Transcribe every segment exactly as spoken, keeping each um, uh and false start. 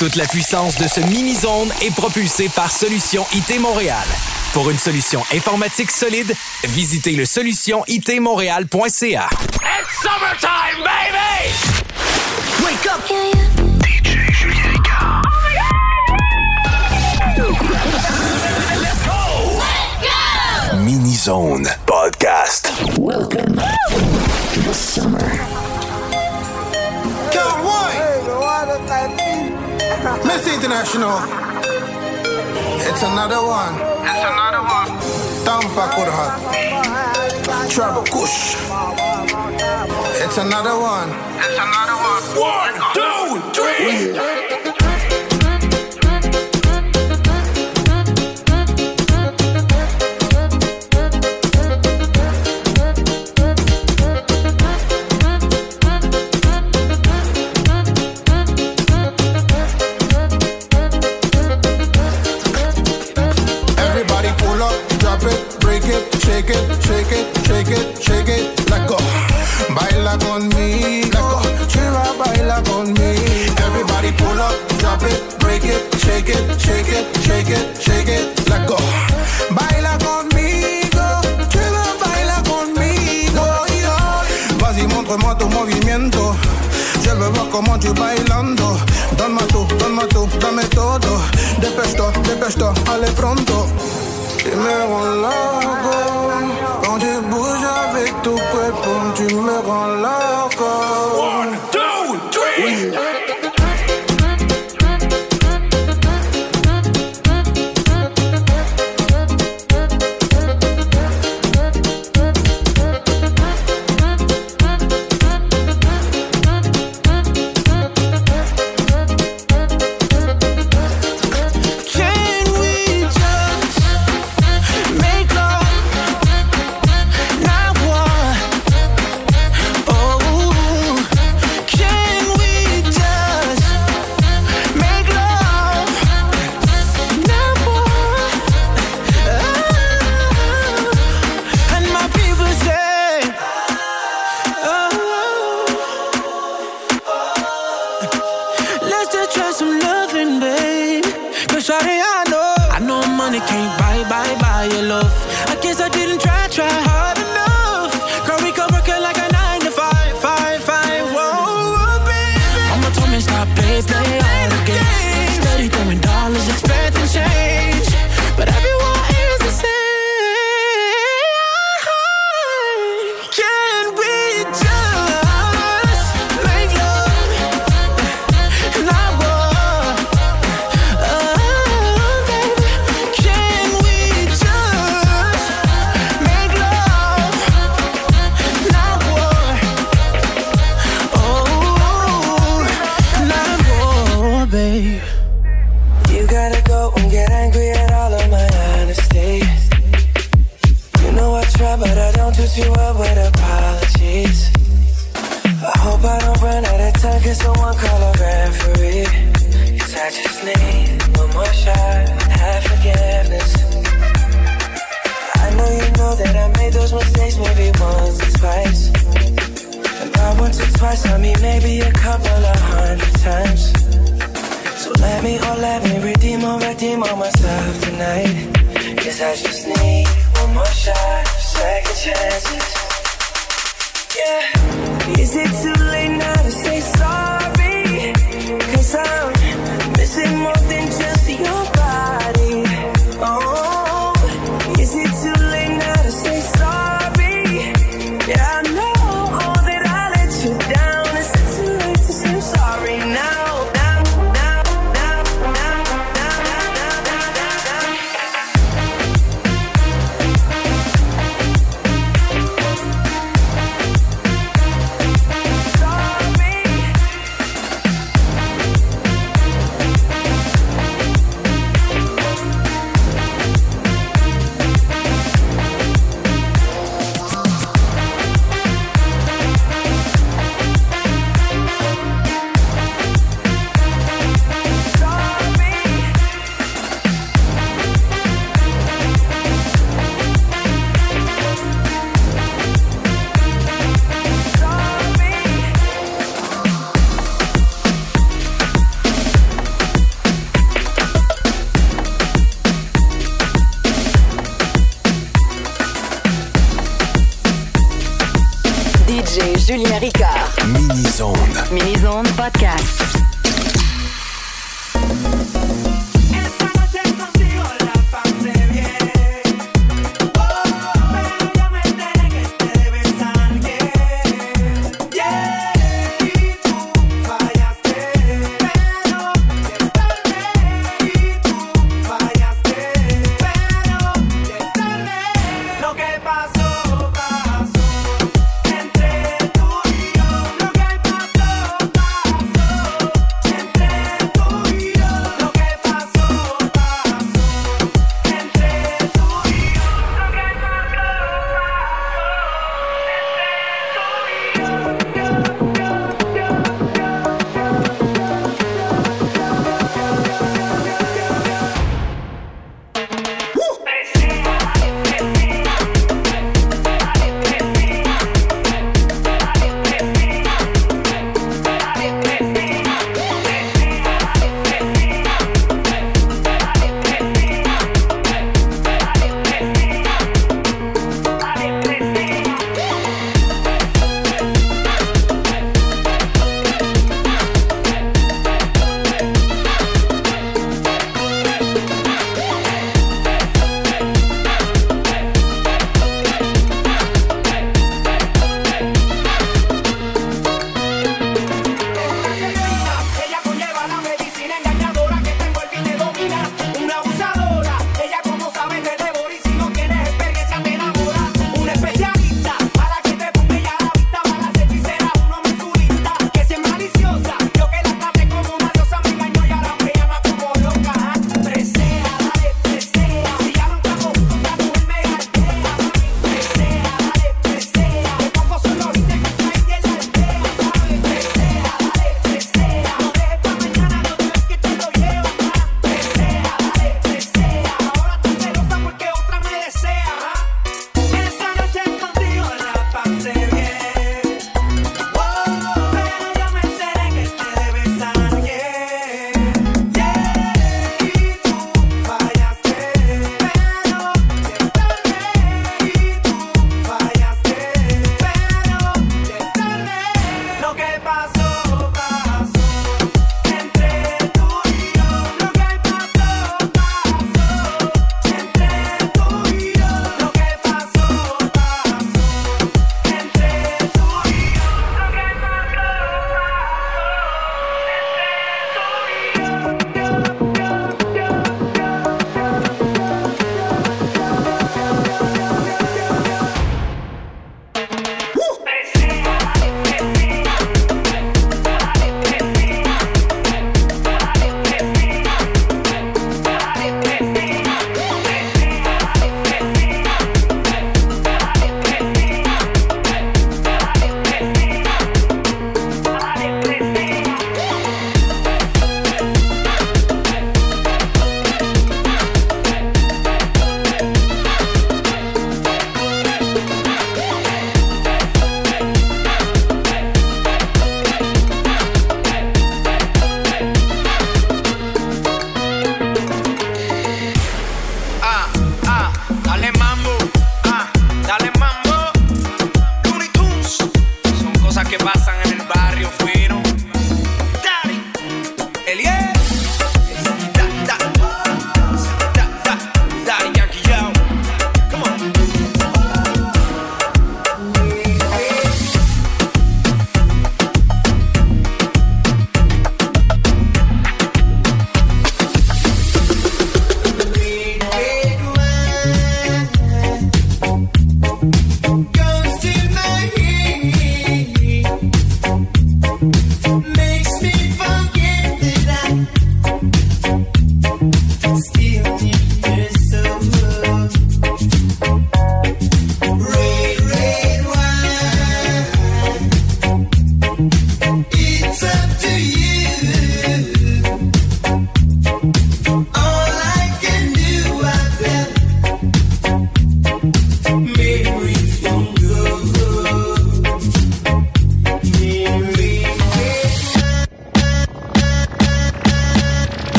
Toute la puissance de ce mini-zone est propulsée par Solution I T Montréal. Pour une solution informatique solide, visitez le solution I T montréal point c a. It's summertime, baby! Wake up! Yeah, yeah. D J Julien Ricard. Let's go! Let's go! Mini-zone podcast. Welcome to the summer. Count one! Miss International. It's another one. It's another one. Tampa Kurhat. Trouble Kush. It's another one. It's another one. One, two, three! Shake it, shake it, shake it, shake it, let go. Baila conmigo, chiva, baila conmigo. Everybody pull up, drop it, break it, shake it, shake it, shake it, shake it, let go. Baila conmigo, chiva, baila conmigo. Vas-y, montre-moi tu movimiento. Je veux voir comment tu bailando. Donne-moi tout, donne-moi tout, dame todo. Dépêche-toi, dépêche-toi, allez pronto. Tu me rends loco. Quand tu bouges avec ton cuerpo, tu me rends loco. One, two, three! Julien Ricard. Mini-zone. Mini-zone podcast. Entre tú y yo, lo que pasó, pasó.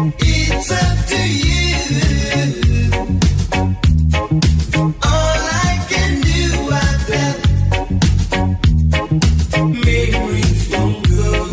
Zone. It's up to you. All I can do, I felt memories from good.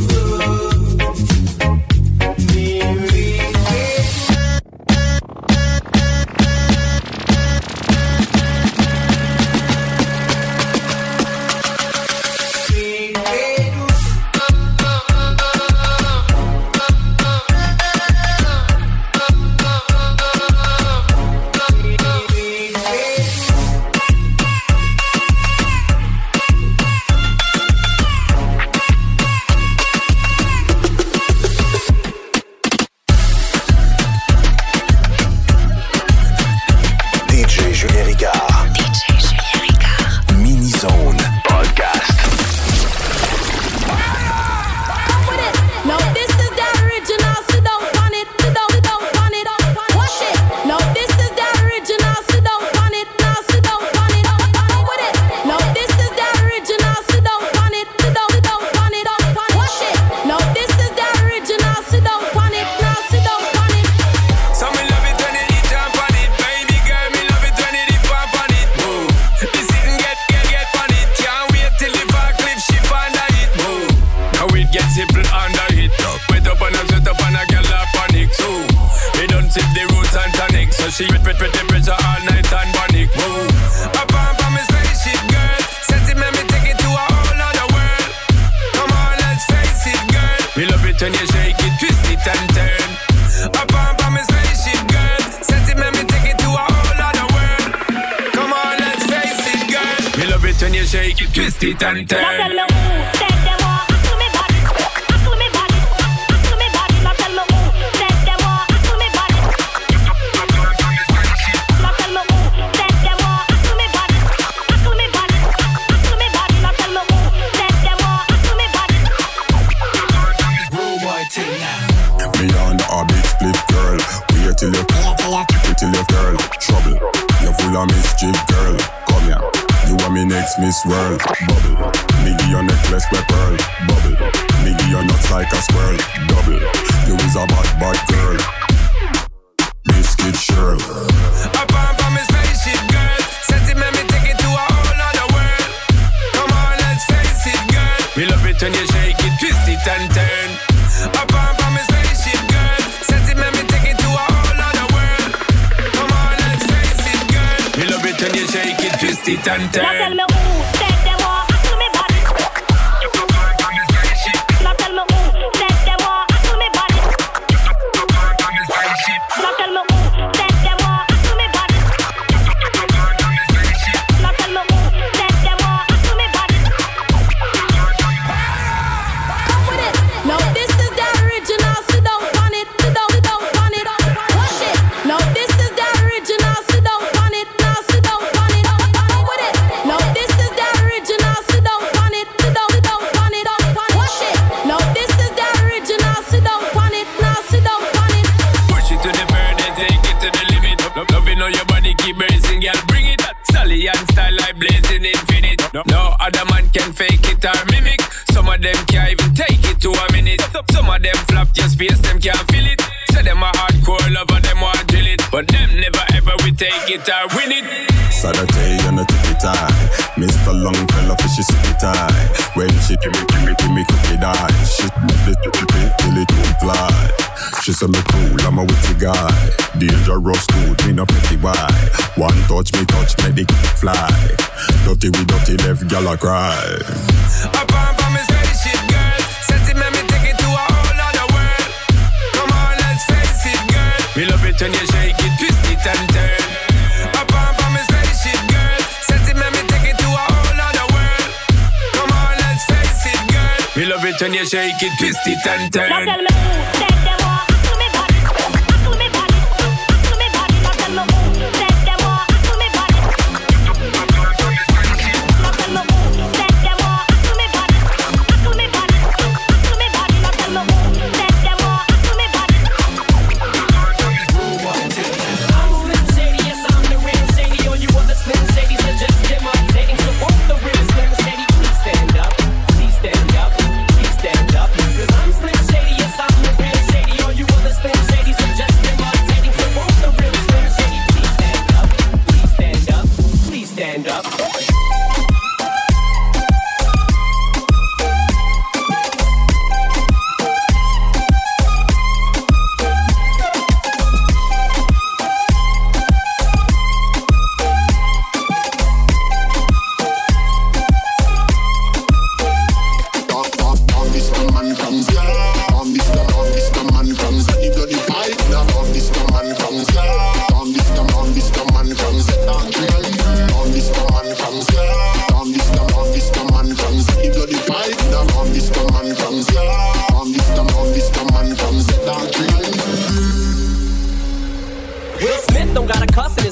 Miss World, bubble. Nigga, your necklace with pearl, bubble. Nigga, your nuts like a squirrel, double. You is a bad, bad girl. Biscuit Shirl. Up on from my spaceship, girl. Sentiment, me take it to a whole other world. Come on, let's face it, girl. We love it when you shake it, twist it and turn. Up on from my spaceship, girl. Sentiment, me take it to a whole other world. Come on, let's face it, girl. We love it when you shake it, twist it and turn. No other man can fake it or mimic. Some of them can't even take it to a minute. Some of them flap your space, them can't feel it. Say them a hardcore lover, them want drill it. But them never ever we take it or win it. Saturday and a tippy tie. Mister Longfellow fishy sippy tie. When she give me, give me, give me cookie die. She split it, till it won't fly. She say me cool, I'm a witty guy. Dangerous dude, me no petty boy. One touch me touch, me dick fly. Dirty we dirty, left gyal a cry. Up on from my spaceship, girl. Sentiment, me take it to a whole other world. Come on, let's face it, girl. We love it when you shake it, twist it and turn. Up on from my spaceship, girl. Sentiment, me take it to a whole other world. Come on, let's face it, girl. We love it when you shake it, twist it and turn. Stand up, please stand up, 'cause I'm Slim Shady, yes I'm the real Shady.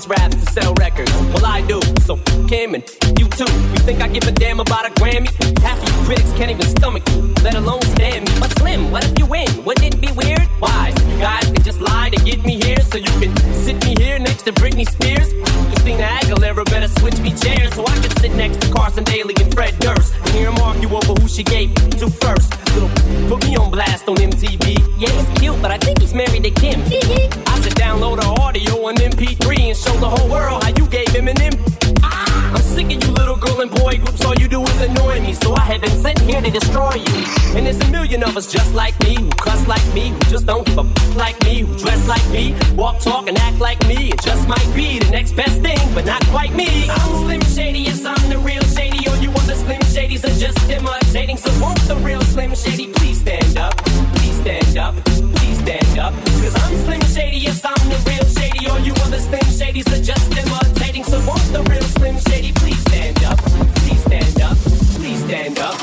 just raps to sell records. Well, I do, so f*** him and f- you too. You think I give a damn about a Grammy? Half of you critics can't even stomach you, let alone stand me. But Slim, what if you win? Wouldn't it be weird? Why? So you guys can just lie to get me here, so you can sit me here next to Britney Spears. Christina Aguilera better switch me chairs, so I can sit next to Carson Daly and Fred Durst and hear them argue over who she gave to first. Little, put me on blast on M T V. Yeah, he's cute, but I think he's married to Kim. I should download her audio on M P three and show the whole world how you gave him an M. I'm sick of you little girl and boy groups, all you do is annoy me, so I have been sent here to destroy you. And there's a million of us just like me, who cuss like me, who just don't give a f*** like me, who dress like me, walk, talk, and act like me. It just might be the next best thing, but not quite me. I'm Slim Shady, yes, I'm the real Shady. All you other Slim Shadys are just imitating, so won't the real Slim Shady please stand up, please stand up, please stand up. Cause I'm Slim Shady, yes, I'm the real Shady. All you other Slim Shadys are just imitating, so won't the real Slim Shady please stand up, please stand up, please stand up.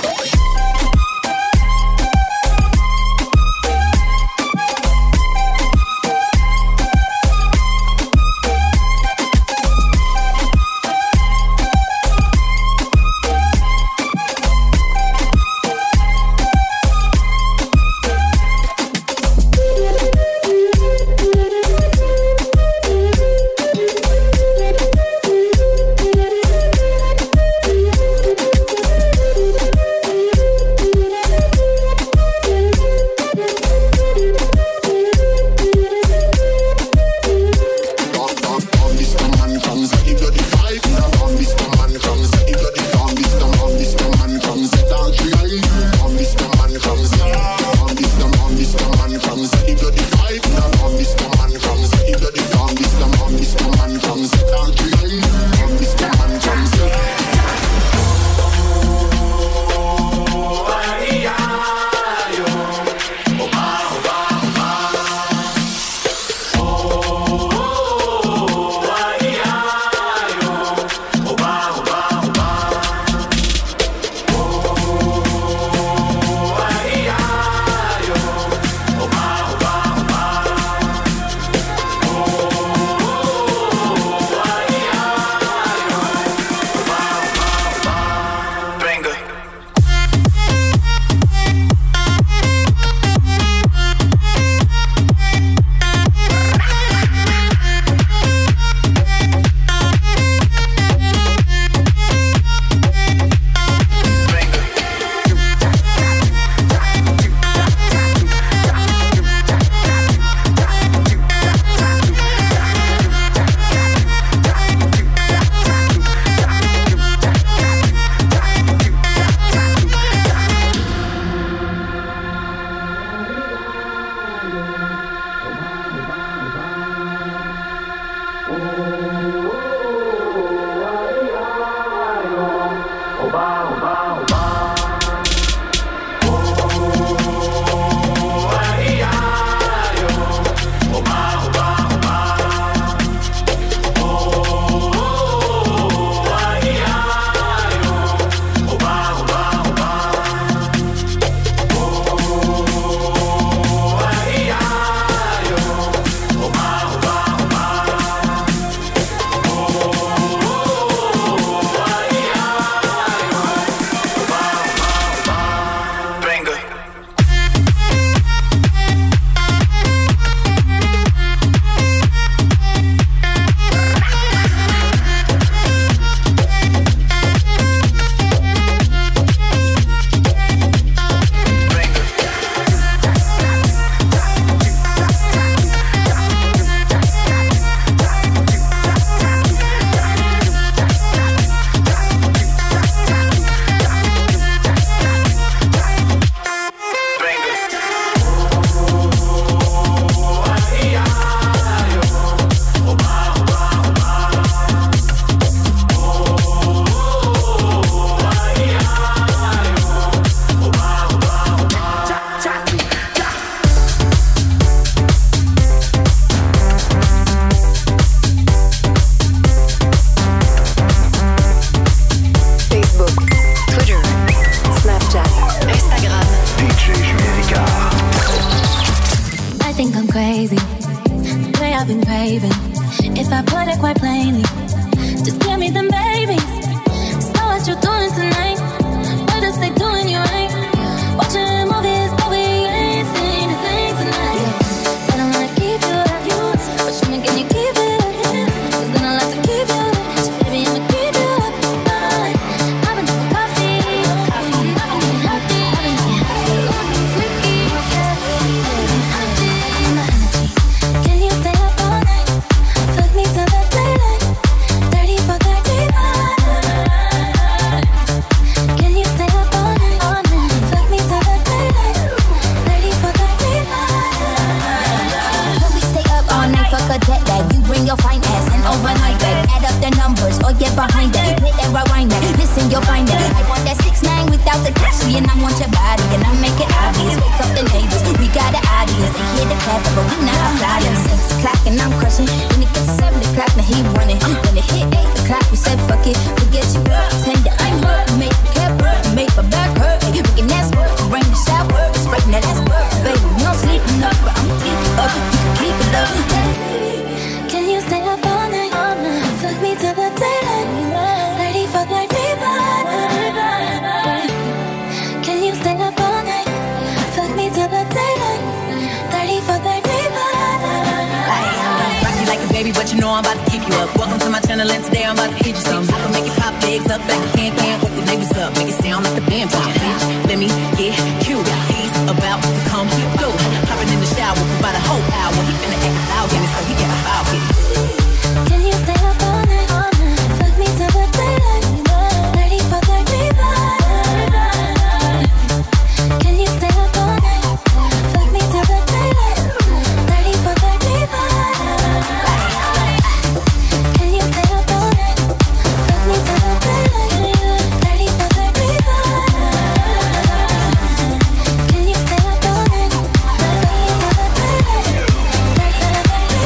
crazy, the way I've been craving. If I put it quite plainly, just give me them babies. So what you doing tonight? What is they doing you right? Watching movies, but we ain't seen a thing tonight. Yeah. I don't wanna keep you up, you, but show me can you keep it up? Yeah. Cause then I like to keep you up, so baby I'ma keep you up. Right. I've been drinking coffee, coffee. I've been getting healthy, I've been getting healthy. Squeaky, yeah. Energy, energy. Can you stay up all night? Fuck me till the daylight. Thirty for thirty-five. Can you stay up all night? All night. Fuck me till the daylight. Thirty for thirty-five. When we stay up all night, fuck a jet lag. You bring your fine ass and overnight that. Add up the numbers or get behind that. Hit and rewind that. Listen, you'll find that. I want that six nine without the cash, and I want your body, and I make it obvious. Wake up the neighbors, we got an audience. They hear the clap, but we not flying. Six o'clock and I'm crushing. When it gets to seven o'clock, now he running. When it hit eight o'clock, we said fuck it. Forget you, tender. I'm work, make the cap work, make my back hurt. We can ask work, bring the shower, spreading that ass work, baby. No sleeping up, but I'm keep up. You can keep it up. Can you stay up all night? All night. Fuck me till the daylight. Thirty for thirty-five. Can you stay up all night? Fuck me till the daylight. Thirty for thirty-five. Rock you like a baby, but you know I'm about to keep you up. Welcome to my channel, and today I'm about to teach you something. I can make you pop legs up like a can can. Wake the neighbors up, make it sound like the band playing. Bitch, let me get cute. He's about to come through. Hopping in the shower for about a whole hour. He finna act loud, and so he got a foul with it. Can you stay up all night? All night. Fuck me till the daylight. Thirty for thirty-five. Can you stay up all night? Fuck me till the daylight. Thirty for thirty-five. Can you stay up all night? Fuck me till the daylight. Thirty for thirty-five. Can you stay up all night? Fuck me till the daylight. Thirty for thirty-five.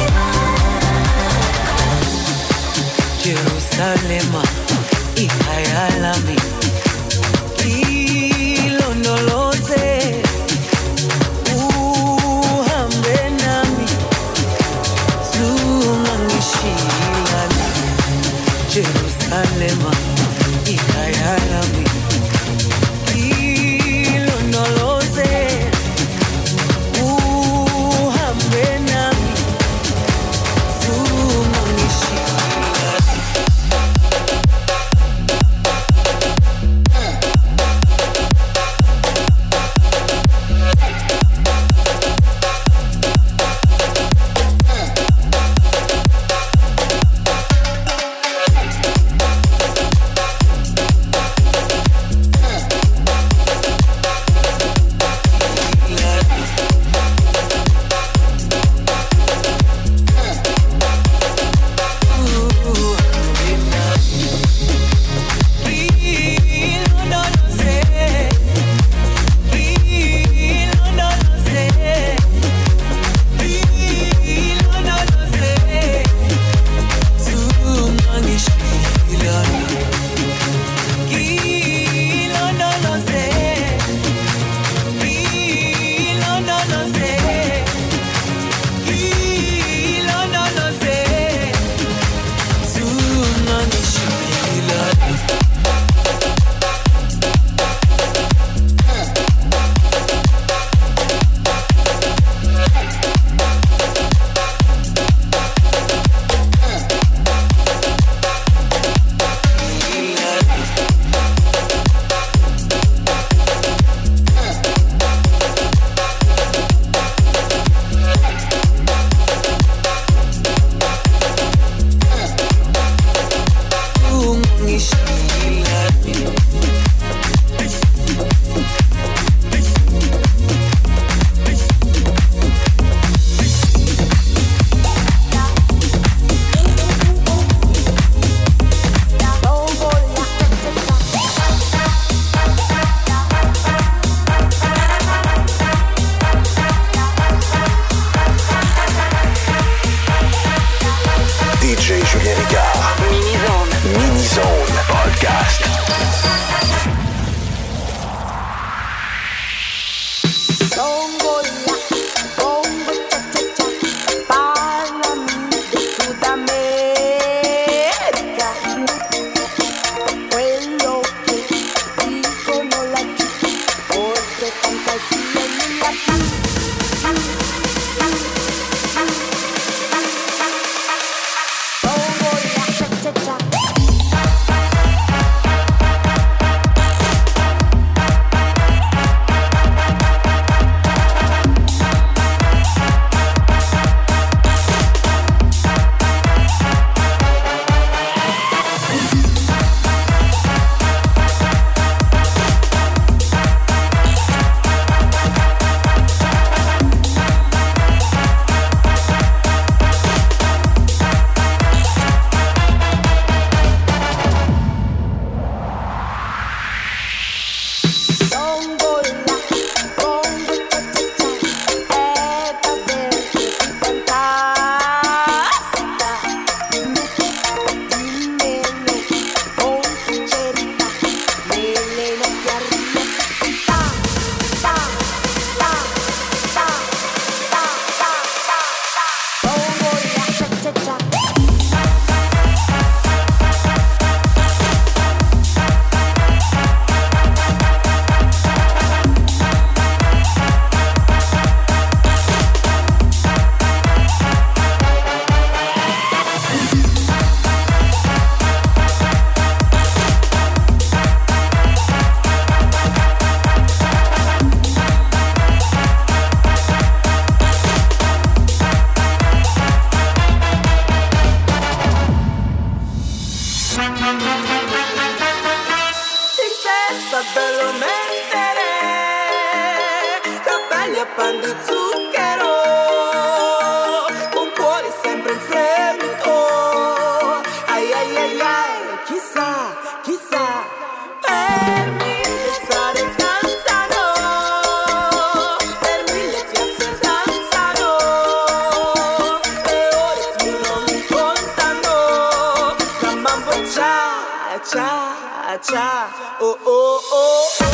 cha-cha. Oh, oh, oh, oh.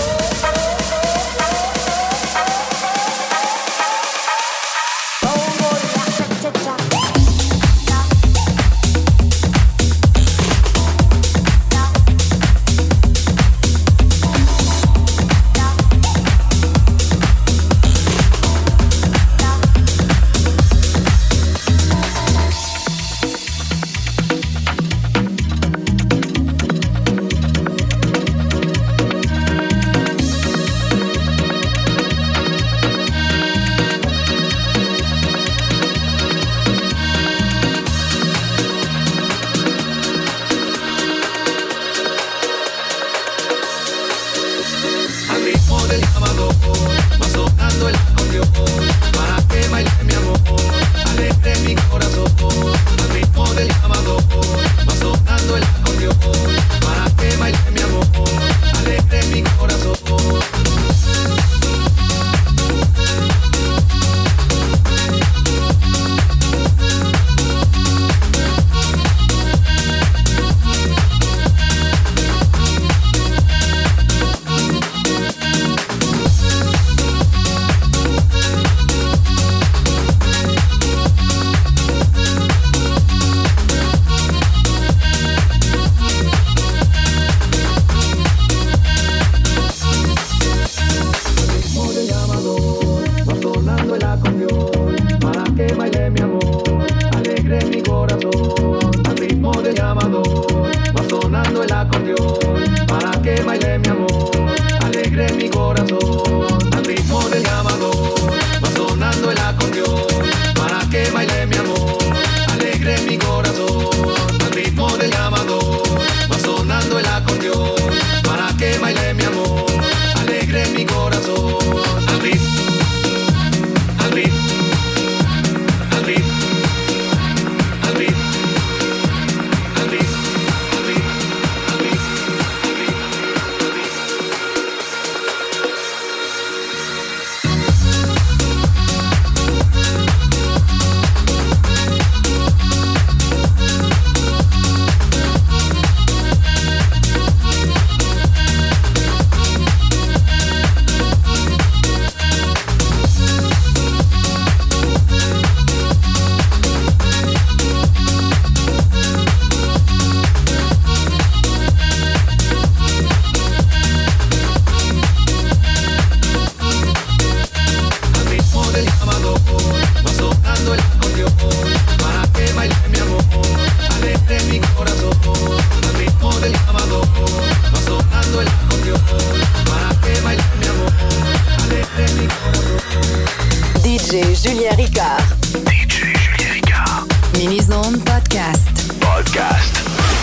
D J Julien Ricard. D J Julien Ricard. Mini-Zone Podcast. Podcast.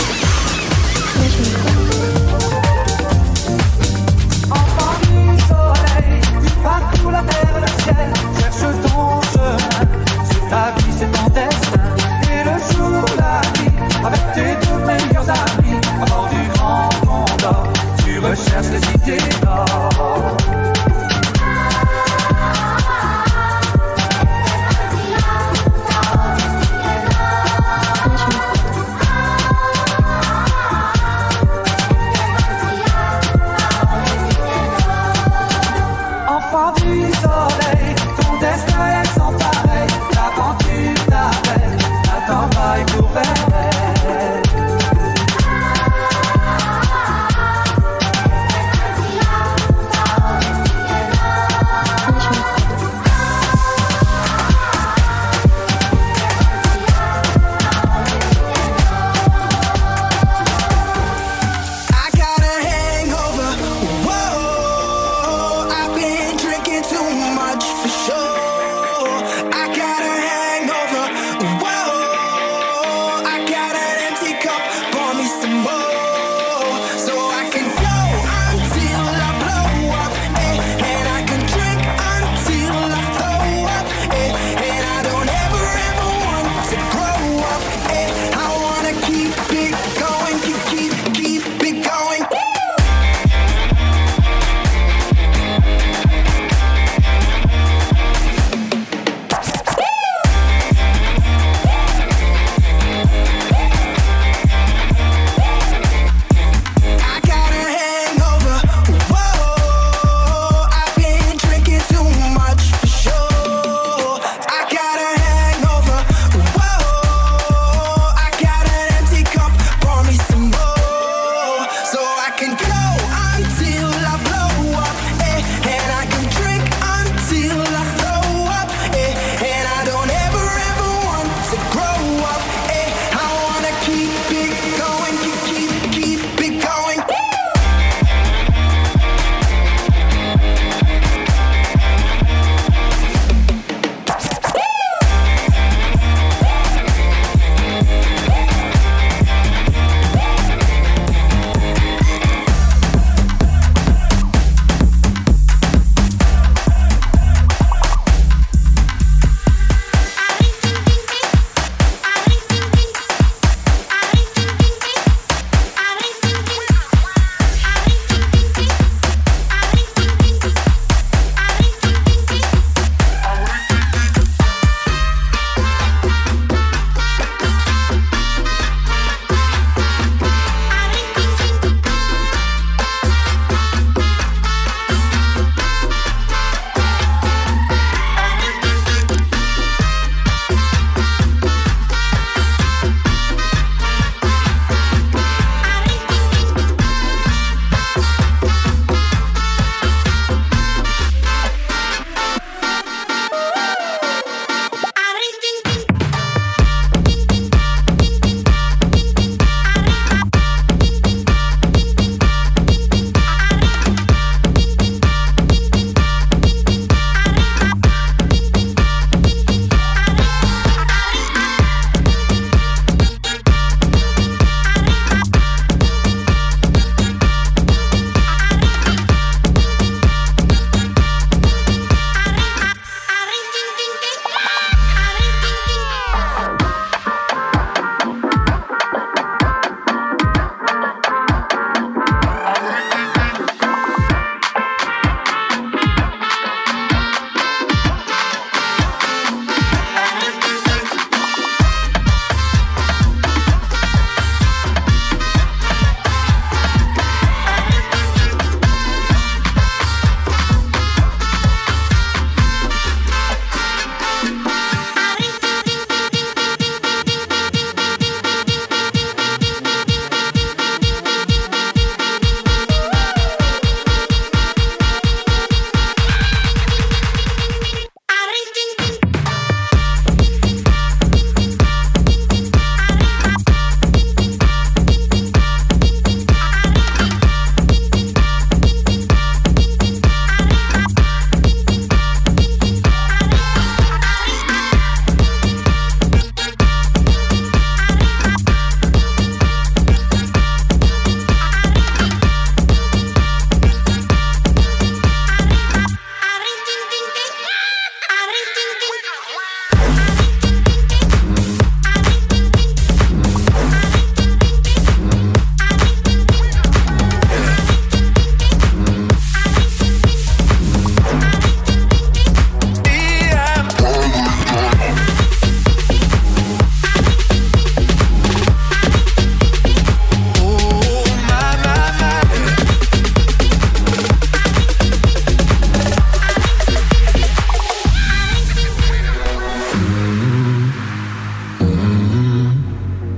Enfant du soleil, tu parcours la terre et le ciel, cherche ton chemin, sur ta vie c'est ton destin, et le jour, la nuit, avec tes deux meilleurs amis, à bord du grand Condor, tu recherches les cités d'or.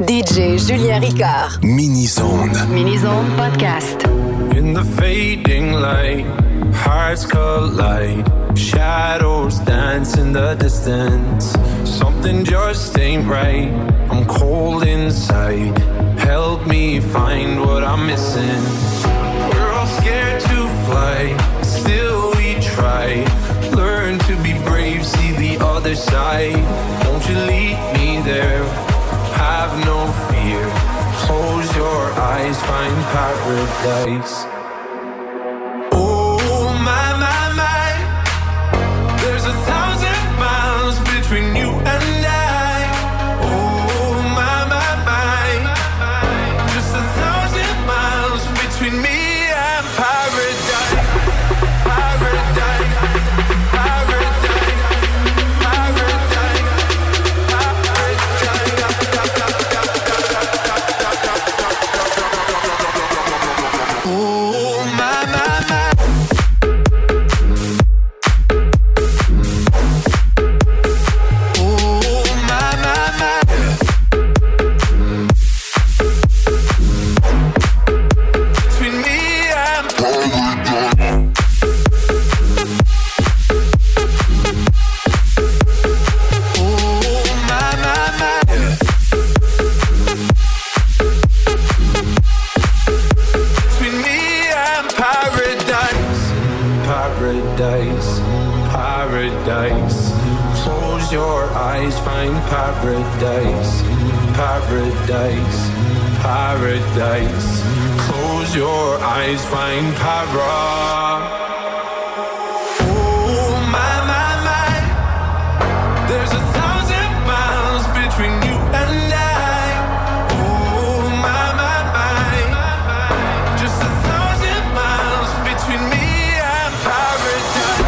D J Julien Ricard. Mini-Zone. Mini-Zone Podcast. In the fading light, hearts collide. Shadows dance in the distance. Something just ain't right. I'm cold inside. Help me find what I'm missing. We're all scared to fly, still we try. Learn to be brave, see the other side. Won't you lead me there? Have no fear. Close your eyes, find paradise. Oh my, my, my. There's a thousand miles between you and I. Oh my, my, my. Just a thousand miles between me and paradise. Paradise. Paradise. Paradise. Paradise. Oh my, my, my. Paradise. Close your eyes, find paradise. Paradise. Paradise. Close your eyes, find paradise. Oh my, my, my. There's a thousand miles between you and I. Oh my, my, my. Just a thousand miles between me and paradise.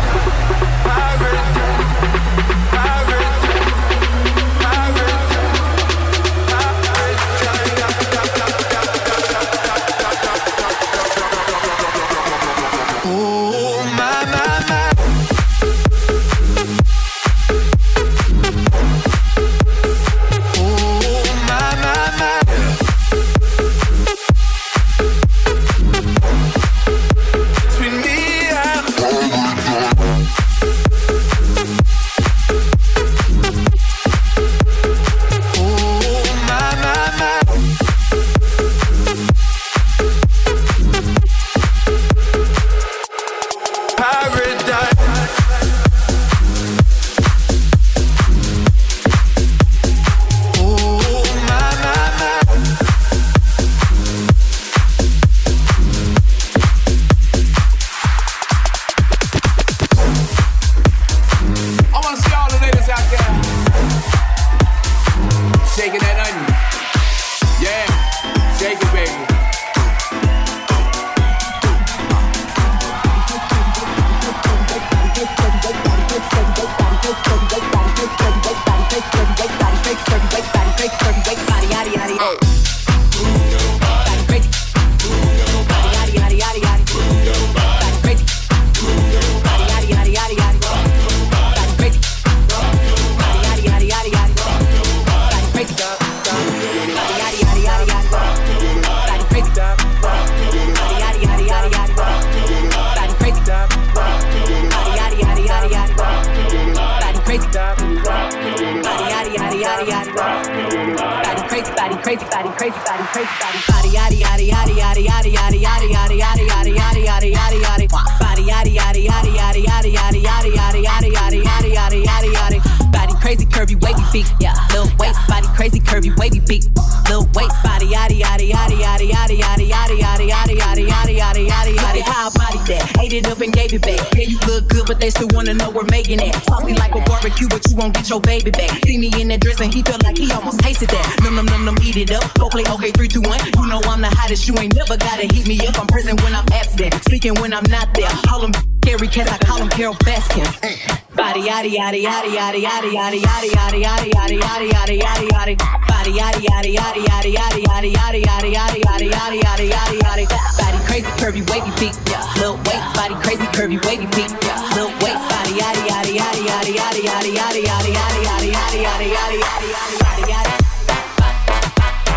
Your baby back. See me in that dress and he felt like he almost tasted that. Num num num num, eat it up. Go play okay, three, two, one. You know I'm the hottest. You ain't never gotta heat me up. I'm present when I'm absent, speaking when I'm not there. Call him Gary Cass, I call him Carol Baskin. Body yaddy yaddy yaddy yaddy yaddy yaddy yaddy yaddy yaddy yaddy yaddy yaddy yaddy yaddy. Body yaddy yaddy yaddy yaddy yaddy yaddy yaddy yaddy yaddy yaddy yaddy yaddy yaddy yaddy. Body crazy, curvy, wavy, peak. Little waist, body crazy, curvy, wavy, peak. Little waist, body yaddy yaddy yaddy yaddy yaddy yaddy yaddy yaddy yaddy yaddy yaddy yaddy yaddy yaddy yaddy yaddy.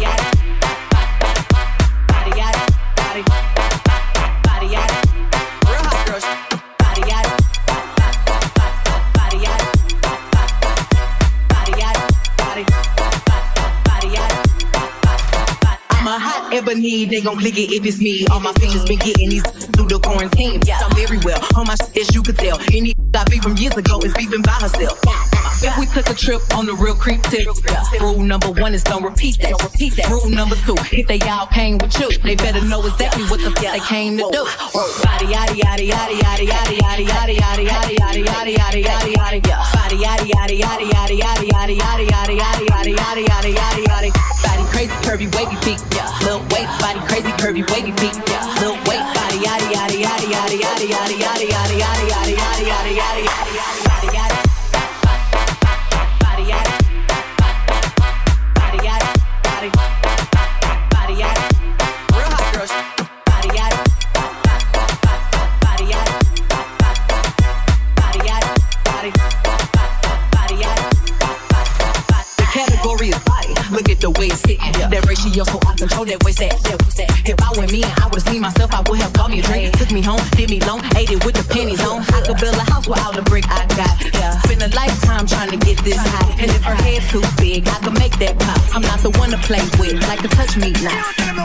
Ebony, they gon' click it if it's me. All my fingers been getting these through the quarantine. Yeah, I'm very well on my shit, as you could tell. Any I beat from years ago is beefing by herself. If we took a trip on the real creep tip, yeah. Rule number one is don't repeat that. Don't repeat that. Rule number two, if they all came with you, they better know exactly what the fuck they came to do. Body yaddy yaddy yaddy yaddy yaddy yaddy yaddy yaddy yaddy yaddy yaddy yaddy yaddy yaddy yaddy. Body yaddy yaddy yaddy yaddy yaddy yaddy yaddy yaddy yaddy yaddy yaddy yaddy yaddy yaddy. Body crazy curvy wavy peak, yeah. Little waist body crazy curvy wavy peak, yeah. Little waist body yaddy yaddy yaddy yaddy yaddy yaddy yaddy yaddy yaddy yaddy yaddy yaddy yaddy yaddy yaddy. Look at the way it's sitting. Yeah. That ratio, so I control that waist. That, that, that. If I were me and I would've seen myself, I would have bought me a drink. Took me home, did me long, ate it with the pennies on. I could build a house without the brick I got. Yeah. Spend a lifetime trying to get this high. And if her head too big, I could make that pop. I'm not the one to play with, like to touch me now.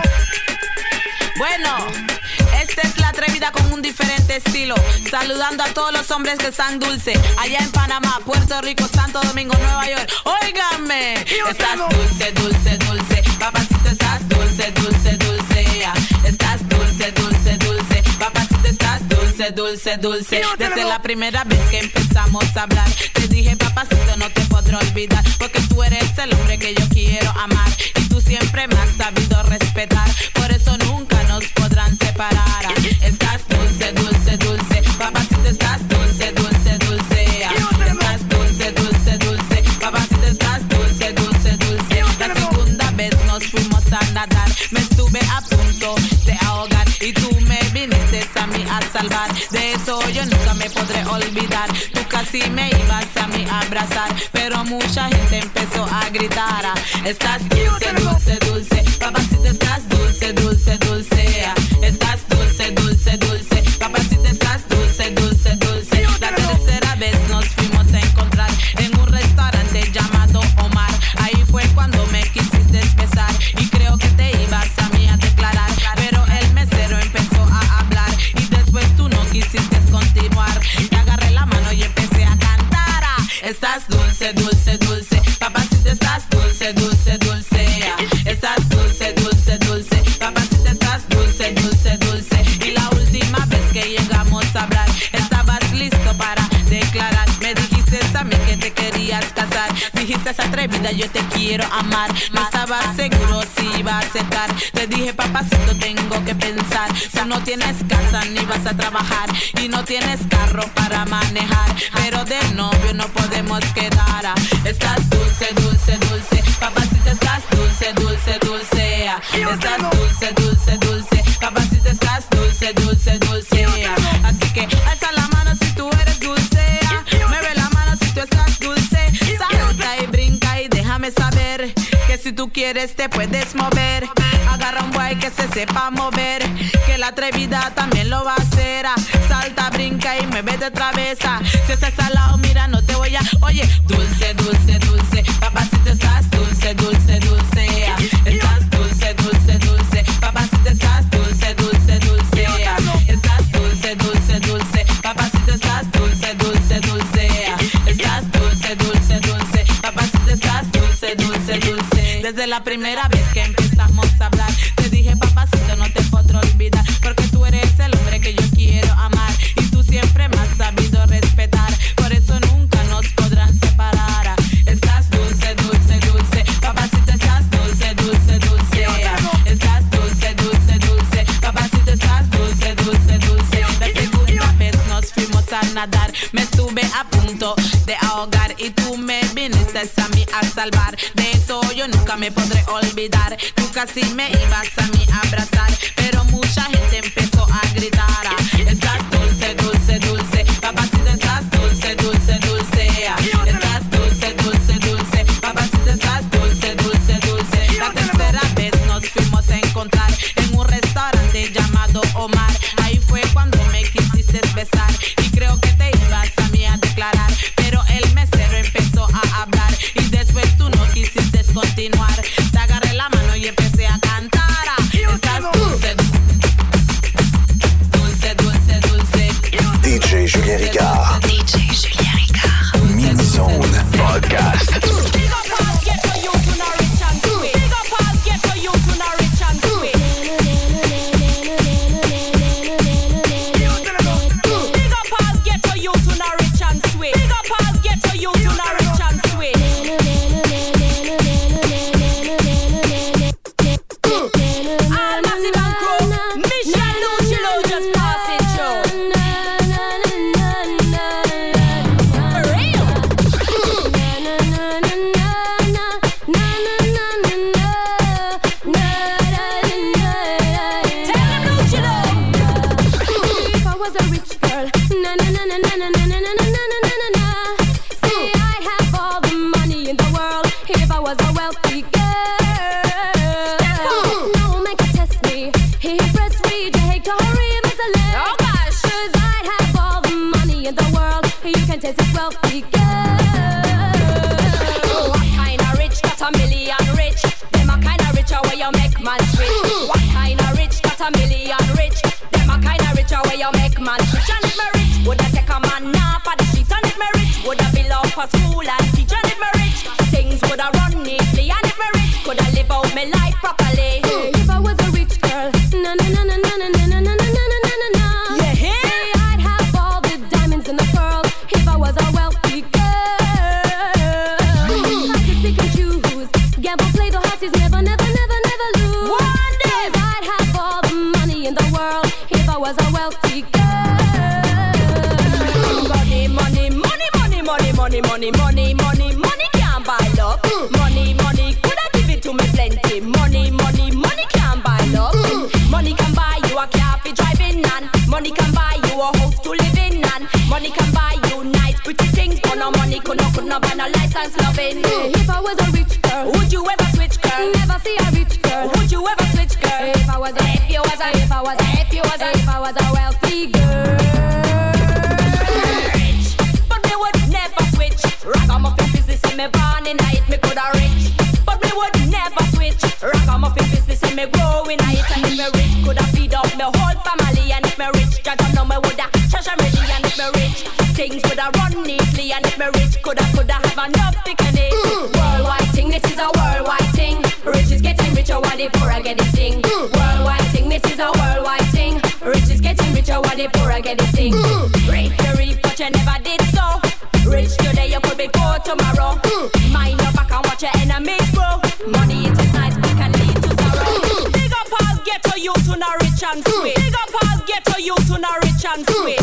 Bueno, esta es la atrevida con un diferente estilo. Saludando a todos los hombres que están dulce. Allá en Panamá, Puerto Rico, Santo Domingo, Nueva York. Óiganme, estás dulce, dulce, dulce. Papacito, estás dulce, dulce, dulce. Yeah. Estás dulce, dulce, dulce. Papacito, estás dulce, dulce, dulce. Desde la primera vez que empezamos a hablar, te dije, papacito, no te podré olvidar. Porque tú eres el hombre que yo quiero amar. Y tú siempre me has sabido respetar. Por eso nunca nos podrán separar. Estás dulce, dulce, dulce. Papacito, estás dulce, dulce, dulce. Estás dulce, dulce, dulce. Papacito, estás dulce, dulce, dulce. La segunda vez nos fuimos a nadar. Me estuve a punto de ahogar y tú me viniste a mí a salvar. De eso yo nunca me podré olvidar. Tú casi me ibas a mí a abrazar, pero mucha gente empezó a gritar. Estás dulce, dulce, dulce. Papacito, estás dulce, dulce, dulce. Estás dulce, dulce, dulce. Papacito, estás dulce, dulce, dulce. La tercera vez nos fuimos a encontrar en un restaurante llamado Omar. Ahí fue cuando me quisiste besar y creo que te ibas a mí a declarar, pero el mesero empezó a hablar y después tú no quisiste continuar. Te agarré la mano y empecé a cantar. Estás dulce, dulce, dulce. Papacito, estás dulce, dulce, dulce. Estás dulce, dulce, dulce. Papacito, estás dulce, dulce, dulce. Y la última vez que llegamos a hablar, estabas listo para declarar. Me dijiste a mí que te querías casar. Dijiste, esa atrevida, yo te quiero amar. No estaba seguro si iba a aceptar. Te dije, papacito, tengo que pensar. Tú no tienes casa ni vas a trabajar y no tienes carro para manejar, pero de novio no podemos quedar. Estás dulce, dulce, dulce. Papacito, estás dulce, dulce, dulce. Estás dulce, dulce, dulce. Papacito, estás dulce, dulce, dulce. Así que alza la mano si tú eres dulce. Mueve la mano si tú estás dulce. Salta y brinca y déjame saber que si tú quieres te puedes mover. Agarra un guay que se sepa mover, que la atrevida también lo va a hacer. Salta, brinca y mueve de travesa. Si estás al lado, mira, no te voy a... Oye, dulce, dulce, dulce. Papacito, estás dulce, dulce, dulce. Estás dulce, dulce, dulce. Papacito, estás dulce, dulce, dulce. Estás dulce, dulce, dulce. Papacito, estás dulce, dulce, dulce. Estás dulce, dulce, dulce. Papacito, estás dulce, dulce, dulce. Desde la primera vez que empezamos a hablar, te dije, papacito, no te podré olvidar, porque tú eres el hombre que yo quiero amar y tú siempre me has sabido respetar. Por eso nunca nos podrán separar. Estás dulce, dulce, dulce. Papacito, estás dulce, dulce, dulce. Estás dulce, dulce, dulce. Papacito, estás dulce, dulce, dulce. La segunda vez nos fuimos a nadar. Me estuve a punto de ahogar y tú me viniste a mí a salvar. De eso yo nunca me podré olvidar. Tú casi me ibas a mí a abrazar, pero mucha gente empezó a gritar. Estás dulce, dulce, dulce. Papacito, estás dulce, dulce, dulce. Estás dulce, dulce, dulce. Papacito, estás dulce, dulce, dulce. La tercera continuar. Te agarré la mano y empecé a cantar. Estás dulce, dulce, dulce, dulce. D J Julien Ricard. D J Julien Ricard. Mini-Zone Podcast. Big up all ghetto youth who not rich and sweet. Big up all ghetto youth who not rich and sweet. Big up all ghetto youth who not rich and sweet. Big up all ghetto youth who not rich and sweet. All massive and crew, Mission Lucilo just pass it through. For real. Tell them Lucilo. If I was a rich girl, na na na na na na na na na na na na na na. Say I'd have all the money in the world if I was a wealthy girl. No man can test me. He press read, you hate to hurry him as a leg. Oh gosh. 'Cause I'd have all the money in the world. You can test this wealthy girl. What kind of rich got a million rich? Them a kind of rich where you make man switch. What kind of rich got a million rich? Them a kind of rich where you make man switch. And if me rich, would I take a man off of the street? And if me rich, would I build up a school and teach? And if me rich, things would I run neatly. And if me rich, could I live out my life properly? If I was a rich girl, na na na na na na na na na na na na na na. You hear? Say I'd have all the diamonds in the world if I was a wealthy girl. I could pick and choose, gamble, play the horses, never, never, never, never lose. One day. 'Cause I'd have all the money in the world if I was a wealthy girl. Money, money, money, money, money, money, money, money, money, money can't buy love. Money, money, could I give it to me plenty? Money, money, money can't buy love. Money can buy you a car for driving and money can buy you a house to live in and money can buy you nice pretty things, but no money could not, could not buy no license loving. If I was a rich girl, Would you ever switch, girl? never see a rich girl. Would you ever switch, girl? If I was a, If you was a, if I was a, if you was a, if I was a wealthy girl. rich, but me would never switch. Ragamuffin business in me born in it, me coulda rich, but me would never switch. Ragamuffin business in me growing it, and if me rich, coulda feed up me whole family. And if me rich, judge know me woulda trash and ready. And if me rich, things woulda run neatly. And if me rich, coulda coulda have enough picnic. Worldwide thing, this is a worldwide thing. Rich is getting richer while the poor are getting sing. Worldwide thing, this is a worldwide thing. Rich is getting richer while the poor are getting sing. Rich to reap, but you never did so. Rich today, you could be poor tomorrow. Mind your back and watch your enemies grow. Money it is nice, but can lead to sorrow. Big up all ghetto youth who not rich and sweet. Big up all ghetto youth who not rich and sweet.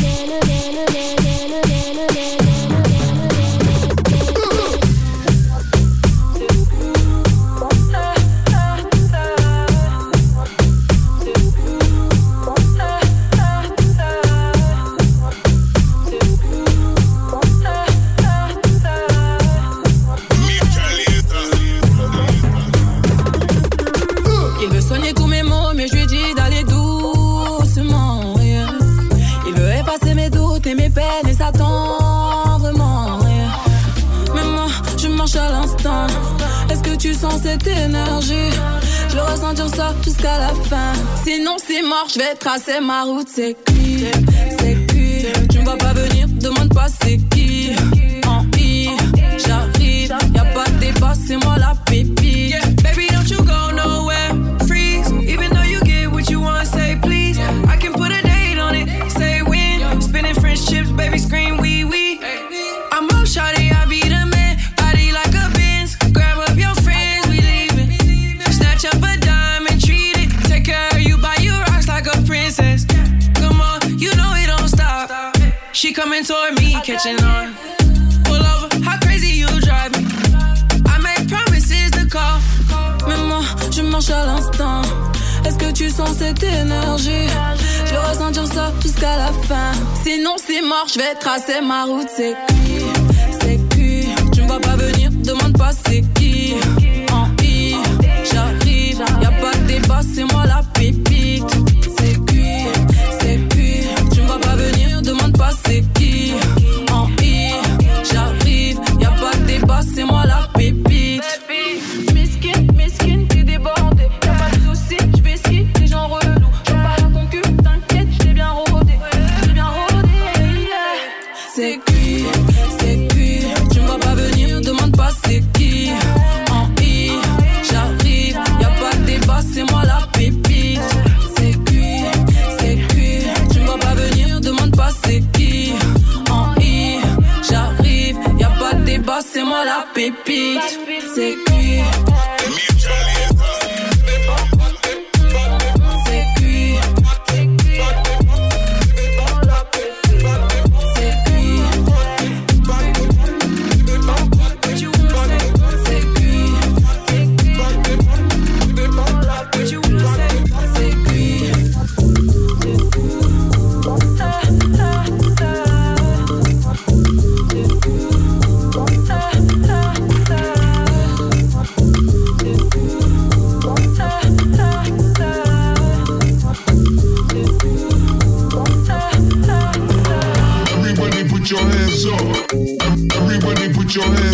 Il veut soigner tous mes maux, mais je lui dis d'aller doucement. Yeah. Il veut effacer mes doutes et mes peines et s'attend vraiment. Yeah. Mais moi, je marche à l'instant. Est-ce que tu sens cette énergie? Je veux ressentir ça jusqu'à la fin. Sinon c'est mort, je vais tracer ma route. C'est qui? C'est qui? Tu me vois pas venir, demande pas c'est qui. En I, j'arrive, y'a pas de débat, c'est moi la pépite. Yeah, baby, don't you go nowhere. Freeze, even though you get what you want, say please. I can put a date on it, say when. Spinning French chips, baby, scream wee wee. I'm up, shawty, I be the man. Body like a Benz. Grab up your friends, we leaving. Snatch up a dime and treat it. Take care of you, buy you rocks like a princess. Come on, you know it don't stop. She coming toward me, catching on. Pull over, how crazy you drive me. I make promises to call. Mais moi, je marche à l'instant. Est-ce que tu sens cette énergie? Je vais ressentir ça jusqu'à la fin. Sinon c'est mort, je vais tracer ma route. C'est qui? C'est qui? Tu me vois pas venir, demande pas c'est qui. En I, j'arrive, y'a pas de débat, c'est moi la pépite. C'est qui? C'est qui? Tu me vois pas venir, demande pas c'est qui. En I, j'arrive, y'a pas de débat, c'est moi la pépite.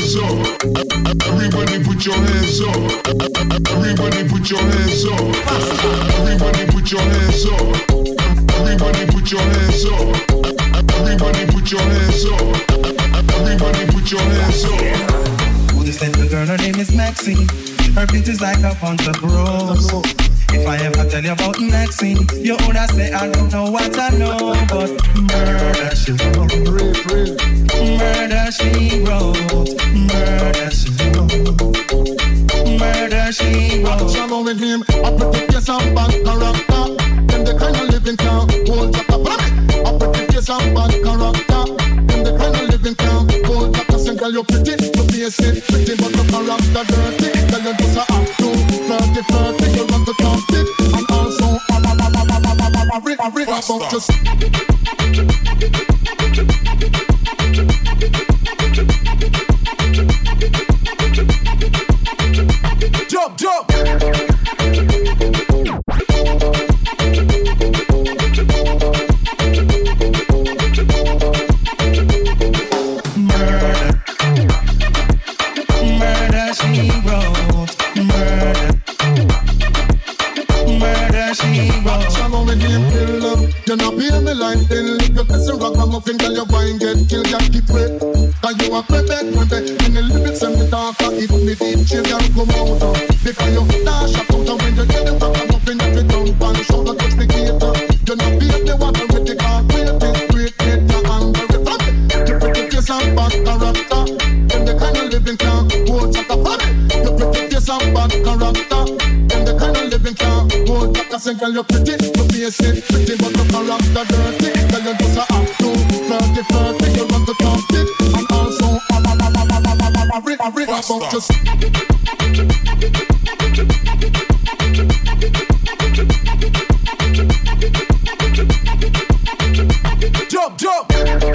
hands up. Everybody put your hands up. Everybody put your hands up. Everybody put your hands up. Everybody put your hands up. Everybody put your hands up. Everybody put your hands up. Who this little girl? Her name is Maxine. Her bitch is like a bunch of rose. If I ever tell you about Maxine, you woulda say I don't know what I know, but murder she wrote, murder she wrote, murder she wrote, murder she wrote. I'm trouble with him. I protect your some bad character. Them the kind of living town, hold up a family. I protect your some bad character. Them the kind of living town, hold up a single. You pretty, you basic, pretty but the character dirty. Tell you just a act to flirty, flirty. You want to talk it, and also a ba ba ba ba ba ba ba ba ba ba about just. Jump, jump. You not pay me like then lick your piece of rock and muffin till your wine get killed, can't keep wet. Cause you a prepare, prepare. In the lyrics and the talk, if me deep chill, can't come out of. Because you dash up out and when you get the rock and muffin, every dump and shoulder touch the gator. You not pay the water with the car, great it, great it, and very fun. You pretty face and bad character. Then the kind of living can't hold at a family. You pretty face and bad character. Then the kind of living can't hold at a single. You pretty, you basic, pretty but the character dirty. Tell you just a act to flirty, flirty. You want to talk it, and also a ba ba ba ba ba ba ba ba ba ba about just. Jump, jump.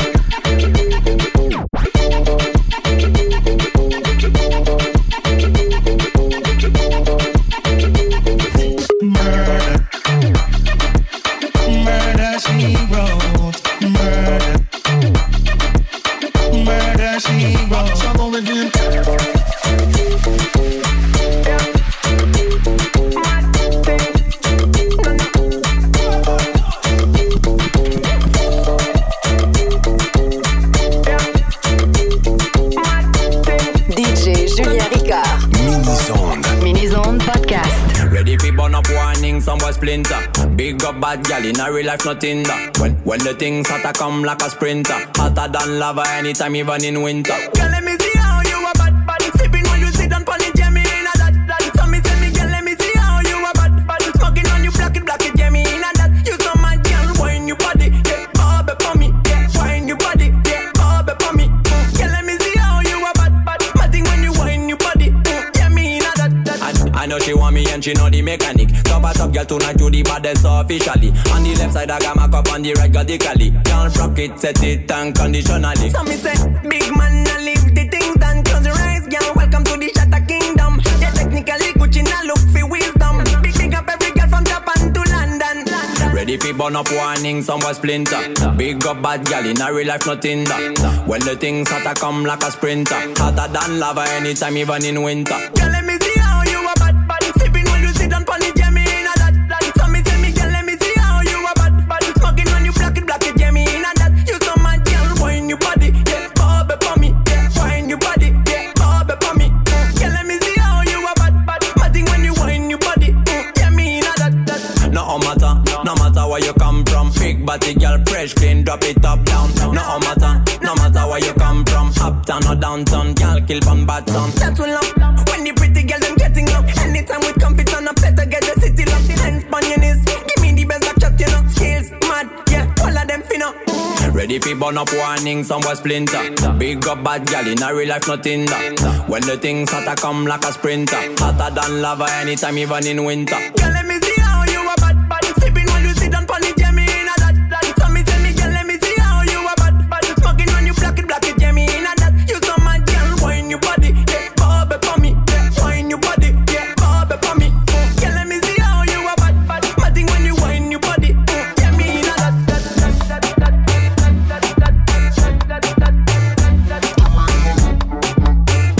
Big up bad gal in a real life, nothing that. When when the things hotter come like a sprinter, hotter than lava anytime, even in winter. Girl, let me see how you a bad bad. Sipping when you sit down pon it, yeah me in a that that. So me say me girl, let me see how you a bad bad. Smoking on you, black it, black it, yeah me in a that. You so mad, girl, wine your body, yeah, bob it for me, yeah, wine your body, yeah, bob it for me. Girl, let me see how you a bad bad. Matting when you wine your body, yeah me in a that that. I, I know she want me and she know the mechanic. Top a top girl tonight, you the baddest officially. On the left side I got my cup, on the right got the cali. Can't rock it, set it unconditionally. So me say, big man, I leave the things done. Close your eyes, girl, welcome to the Shatter Kingdom. Yeah, technically Gucci now look for wisdom. Big big up every girl from Japan to London, London. Ready for burn up warning, some boy splinter. Big up bad gal in a real life, nothing that. When the things hotter come like a sprinter, hotter than lava anytime, even in winter. Girl, let me see how you a bad bad. Sipping when you sit down pon it, yeah me in a that that. So me say me girl, let me see how you a bad bad. Smoking when you black it, black it, yeah me in a that. You so mad, girl, wine your body, yeah, bob it for me, yeah, wine your body, yeah, bob it for me. Girl, let me see how you a bad bad. Matting when you wine your body, yeah me in a that that. No matter, no matter where you come from. Big body girl, fresh, clean, drop it up down. No matter, no matter where you come from. Uptown or downtown, girl, kill from bad sound. That's what love. When the pretty girl them getting up. Anytime we come fit on a better get the city locked in hands on your knees. Give me the best back shot, you know. Skills, mad, yeah, all of them finna. Ready for burn up warning, some boy splinter. Big up bad gal in a real life, nothing that. When the things hotter come like a sprinter, hotter than lava anytime, even in winter. Girl, let me see how you a bad bad. Sipping when you sit down pon it, yeah me in a that that. So me say me girl, let me see how you a bad bad. Smoking when you black it, black it, yeah me in a that. You so mad, girl, wine your body, yeah, bob it for me, yeah, wine your body, yeah, bob it for me. Girl, let me see how you a bad bad. Matting when you wine your body, yeah me in a that that that that that that that that that that that.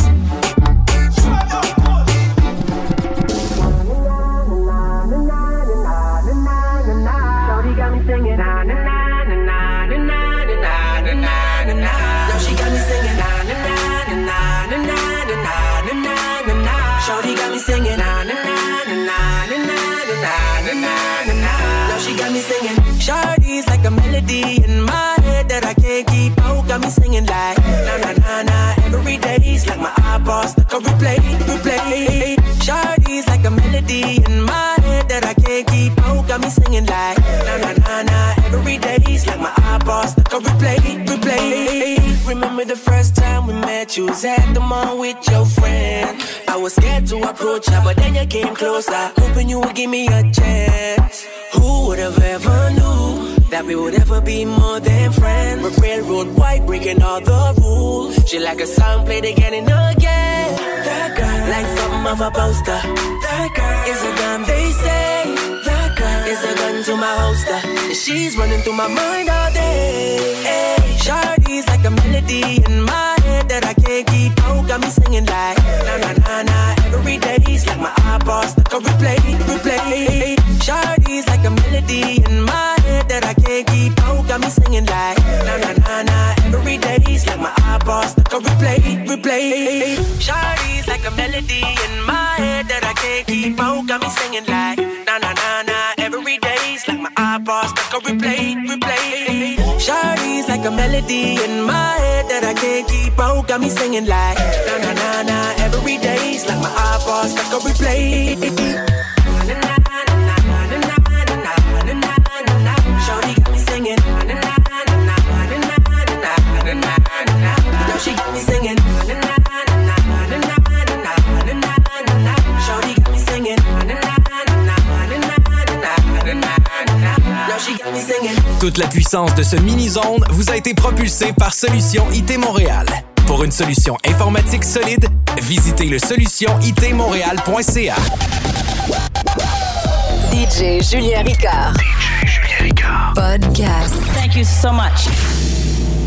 Shorty got me singing na na na na na na na na na na na. Now she got me singing. Shorty's like a melody in my head that I can't keep out. Got me singing like na na na na. Every day's like my iPod stuck on replay, replay. Shorty's like a melody in my head that I can't keep out. Got me singing like na na na na. Every day's like my iPod stuck on replay, replay. Remember the first time we met? You was at the mall with your friend. I was scared to approach her, but then you came closer, hoping you would give me a chance. Who would have ever knew that we would ever be more than friends? We're railroad white, breaking all the rules. She like a song played again and again. That girl, like something of a poster. That girl is a gun, they say. That girl is a gun to my holster. And she's running through my mind all day. Hey, Shorty's like a melody in my head that I can't keep out. Got me singing like na na na na. Every day's like my iPod stuck on replay, replay. Shorty's like a melody in my head that I can't keep out. Got me singing like na na na na. Every day's like my iPod stuck on replay, replay. Shorty's like a melody in my head that I can't keep out. Got me singing like na na na na. Every day's like my iPod stuck on replay, replay. Shorty's like a melody in my head that I can't keep out. Got me singing like na na na na. Every day's like my iPod stuck on replay. Na na na na na na na na na na na. Shorty got me singing na na na na na na na na na na. Now she got me singing na na na na na na na na na na. Shorty got me singing na na na na na na na na na. Now she got me singing. Toute la puissance de ce mini-zone vous a été propulsée par Solution I T Montréal. Pour une solution informatique solide, visitez le solution I T montréal point c a. D J Julien Ricard. D J Julien Ricard. Podcast. Thank you so much.